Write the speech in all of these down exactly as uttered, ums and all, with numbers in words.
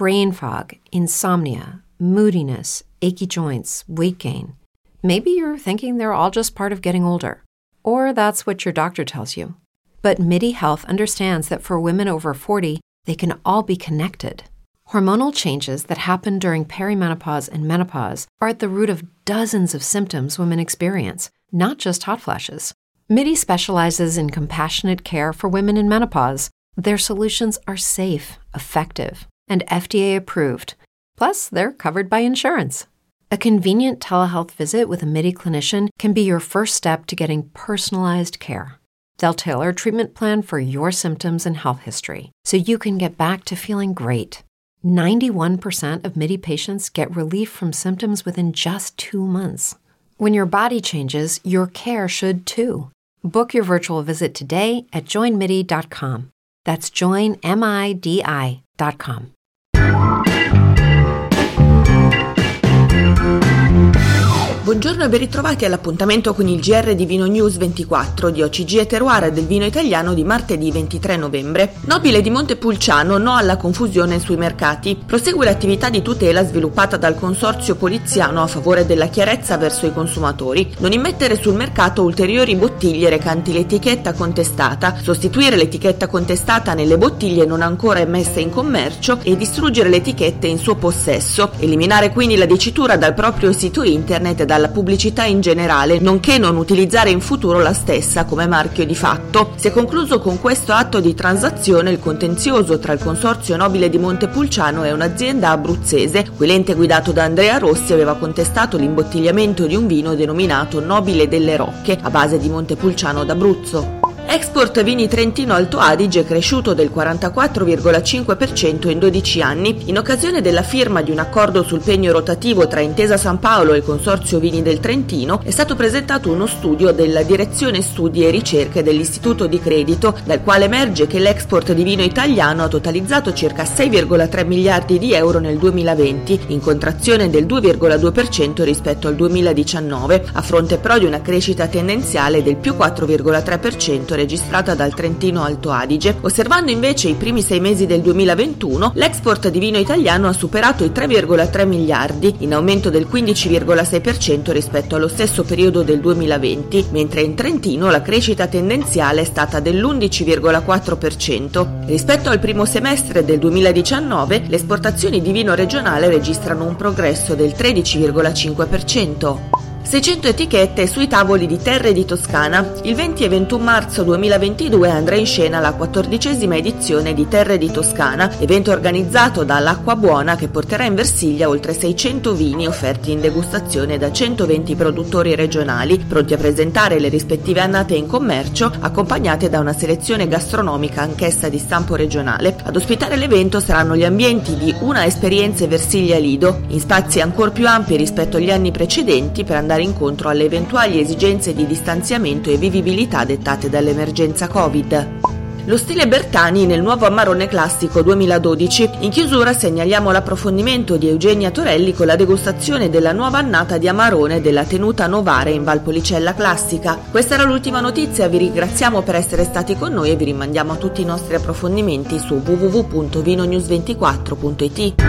brain fog, insomnia, moodiness, achy joints, weight gain. Maybe you're thinking they're all just part of getting older, or that's what your doctor tells you. But MIDI Health understands that for women over forty, they can all be connected. Hormonal changes that happen during perimenopause and menopause are at the root of dozens of symptoms women experience, not just hot flashes. MIDI specializes in compassionate care for women in menopause. Their solutions are safe, effective, and F D A approved. Plus, they're covered by insurance. A convenient telehealth visit with a MIDI clinician can be your first step to getting personalized care. They'll tailor a treatment plan for your symptoms and health history, so you can get back to feeling great. ninety-one percent of MIDI patients get relief from symptoms within just two months. When your body changes, your care should too. Book your virtual visit today at join midi dot com. That's join midi dot com. Buongiorno e ben ritrovati all'appuntamento con il G R di Vino News ventiquattro di O C G e Terroir del vino italiano di martedì ventitré novembre. Nobile di Montepulciano, no alla confusione sui mercati. Prosegue l'attività di tutela sviluppata dal consorzio poliziano a favore della chiarezza verso i consumatori. Non immettere sul mercato ulteriori bottiglie recanti l'etichetta contestata, sostituire l'etichetta contestata nelle bottiglie non ancora emesse in commercio e distruggere le etichette in suo possesso. Eliminare quindi la dicitura dal proprio sito internet e dalla pubblicità in generale, nonché non utilizzare in futuro la stessa come marchio di fatto. Si è concluso con questo atto di transazione il contenzioso tra il Consorzio Nobile di Montepulciano e un'azienda abruzzese, cui l'ente guidato da Andrea Rossi aveva contestato l'imbottigliamento di un vino denominato Nobile delle Rocche, a base di Montepulciano d'Abruzzo. Export Vini Trentino Alto Adige è cresciuto del quarantaquattro virgola cinque per cento in dodici anni. In occasione della firma di un accordo sul pegno rotativo tra Intesa San Paolo e il Consorzio Vini del Trentino, è stato presentato uno studio della Direzione Studi e Ricerche dell'Istituto di Credito, dal quale emerge che l'export di vino italiano ha totalizzato circa sei virgola tre miliardi di euro nel duemilaventi, in contrazione del due virgola due per cento rispetto al duemiladiciannove, a fronte però di una crescita tendenziale del più quattro virgola tre per cento registrata dal Trentino Alto Adige. Osservando invece i primi sei mesi del duemilaventuno, l'export di vino italiano ha superato i tre virgola tre miliardi, in aumento del quindici virgola sei per cento rispetto allo stesso periodo del duemilaventi, mentre in Trentino la crescita tendenziale è stata dell'undici virgola quattro per cento. Rispetto al primo semestre del duemiladiciannove, le esportazioni di vino regionale registrano un progresso del tredici virgola cinque per cento. seicento etichette sui tavoli di Terre di Toscana. Il venti e ventuno marzo duemilaventidue andrà in scena la quattordicesima edizione di Terre di Toscana, evento organizzato dall'Acqua Buona che porterà in Versiglia oltre seicento vini offerti in degustazione da centoventi produttori regionali, pronti a presentare le rispettive annate in commercio, accompagnate da una selezione gastronomica anch'essa di stampo regionale. Ad ospitare l'evento saranno gli ambienti di Una Esperienze Versiglia Lido, in spazi ancor più ampi rispetto agli anni precedenti per andare incontro alle eventuali esigenze di distanziamento e vivibilità dettate dall'emergenza Covid. Lo stile Bertani nel nuovo Amarone Classico duemiladodici. In chiusura segnaliamo l'approfondimento di Eugenia Torelli con la degustazione della nuova annata di Amarone della tenuta Novare in Valpolicella Classica. Questa era l'ultima notizia, vi ringraziamo per essere stati con noi e vi rimandiamo a tutti i nostri approfondimenti su w w w punto vino news ventiquattro punto i t.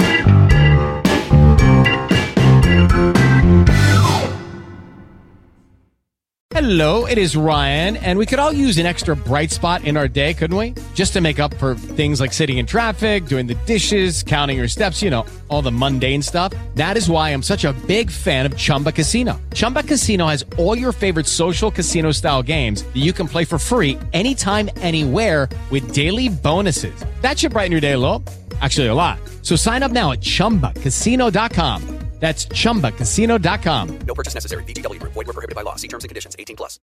Hello, it is Ryan, and we could all use an extra bright spot in our day, couldn't we? Just to make up for things like sitting in traffic, doing the dishes, counting your steps, you know, all the mundane stuff. That is why I'm such a big fan of Chumba Casino. Chumba Casino has all your favorite social casino-style games that you can play for free anytime, anywhere with daily bonuses. That should brighten your day a little. Actually, a lot. So sign up now at chumba casino dot com. That's chumba casino dot com. No purchase necessary. V G W Group. Void where prohibited by law. See terms and conditions. eighteen plus.